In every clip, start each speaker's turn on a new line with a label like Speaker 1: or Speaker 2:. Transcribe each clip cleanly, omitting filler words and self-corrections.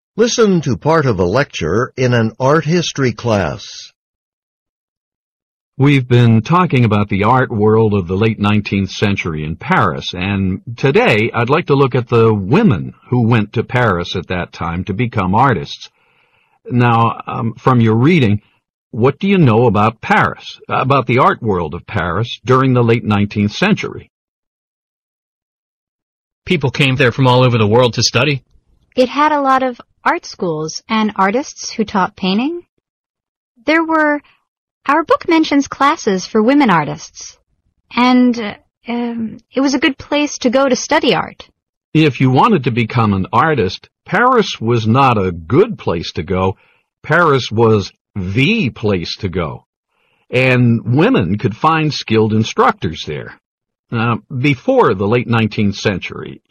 Speaker 1: Listen to part of a lecture in an art history class.
Speaker 2: We've been talking about the art world of the late 19th century in Paris, and today I'd like to look at the women who went to Paris at that time to become artists. Now, from your reading, what do you know about Paris, about the art world of Paris during the late 19th century?
Speaker 3: People came there from all over the world to study.
Speaker 4: It had a lot of art schools and artists who taught painting. Our book mentions classes for women artists, and it was a good place to go to study art.
Speaker 2: If you wanted to become an artist, Paris was not a good place to go. Paris was the place to go. And women could find skilled instructors there. Before the late 19th century,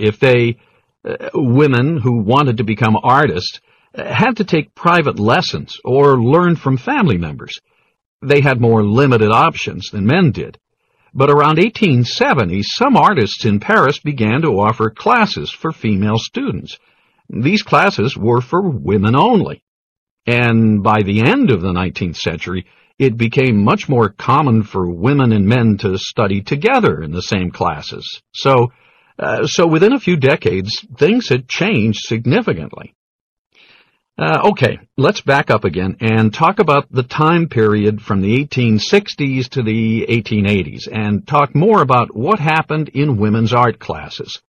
Speaker 2: women who wanted to become artists had to take private lessons or learn from family members. They had more limited options than men did. But around 1870, some artists in Paris began to offer classes for female students. These classes were for women only. And by the end of the 19th century, it became much more common for women and men to study together in the same classes. So within a few decades, things had changed significantly. Okay, let's back up again and talk about the time period from the 1860s to the 1880s and talk more about what happened in women's art classes.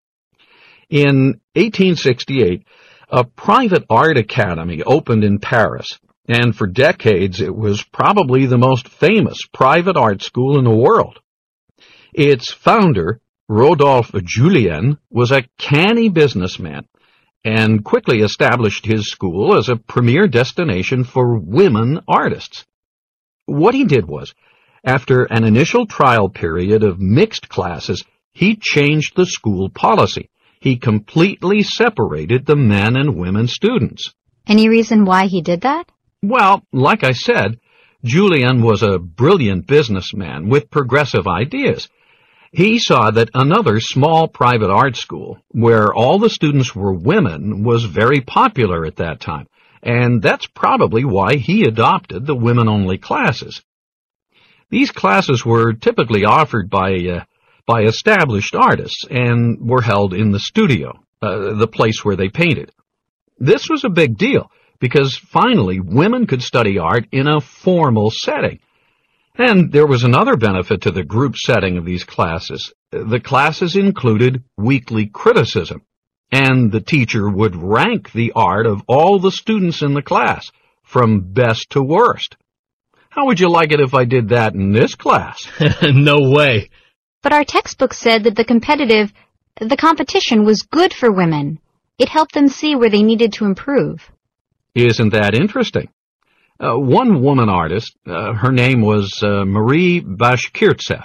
Speaker 2: In 1868, a private art academy opened in Paris, and for decades it was probably the most famous private art school in the world. Its founder, Rodolphe Julien, was a canny businessman and quickly established his school as a premier destination for women artists. What he did was, after an initial trial period of mixed classes, he changed the school policy. He completely separated the men and women students.
Speaker 4: Any reason why he did that?
Speaker 2: Well, like I said, Julien was a brilliant businessman with progressive ideas. He saw that another small private art school, where all the students were women, was very popular at that time, and that's probably why he adopted the women-only classes. These classes were typically offered by established artists and were held in the studio, the place where they painted. This was a big deal, because finally women could study art in a formal setting. And there was another benefit to the group setting of these classes. The classes included weekly criticism, and the teacher would rank the art of all the students in the class, from best to worst. How would you like it if I did that in this class?
Speaker 3: No way.
Speaker 4: But our textbook said that the competition was good for women. It helped them see where they needed to improve.
Speaker 2: Isn't that interesting? One woman artist, her name was Marie Bashkirtseff.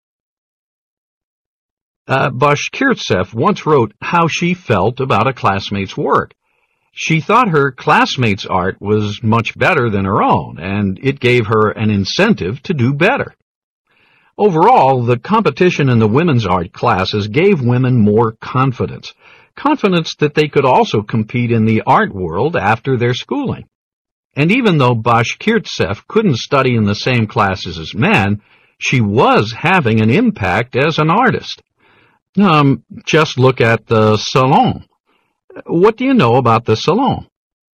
Speaker 2: Bashkirtseff once wrote how she felt about a classmate's work. She thought her classmate's art was much better than her own, and it gave her an incentive to do better. Overall, the competition in the women's art classes gave women more confidence that they could also compete in the art world after their schooling. And even though Bashkirtseff couldn't study in the same classes as men, she was having an impact as an artist. Just look at the Salon. What do you know about the Salon?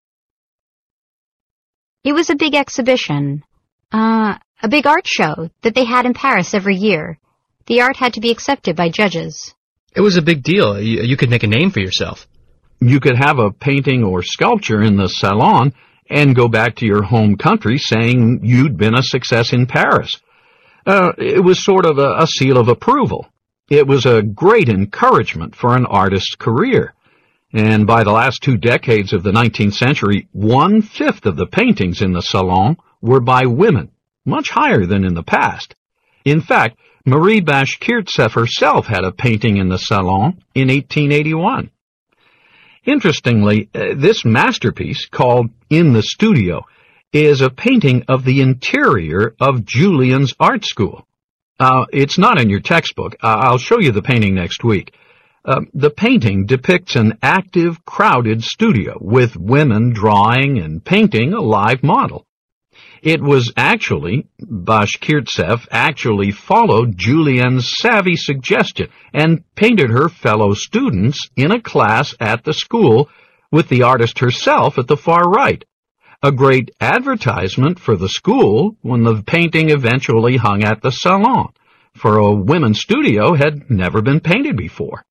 Speaker 4: It was a big exhibition, a big art show that they had in Paris every year. The art had to be accepted by judges.
Speaker 3: It was a big deal. You could make a name for yourself.
Speaker 2: You could have a painting or sculpture in the Salon and go back to your home country saying you'd been a success in Paris. It was sort of a seal of approval. It was a great encouragement for an artist's career. And by the last 2 decades of the 19th century, 1/5 of the paintings in the Salon were by women, much higher than in the past. In fact, Marie Bashkirtseff herself had a painting in the Salon in 1881. Interestingly, this masterpiece, called In the Studio, is a painting of the interior of Julien's art school. It's not in your textbook. I'll show you the painting next week. The painting depicts an active, crowded studio with women drawing and painting a live model. It was Bashkirtsev actually followed Julien's savvy suggestion and painted her fellow students in a class at the school with the artist herself at the far right. A great advertisement for the school when the painting eventually hung at the salon, for a women's studio had never been painted before.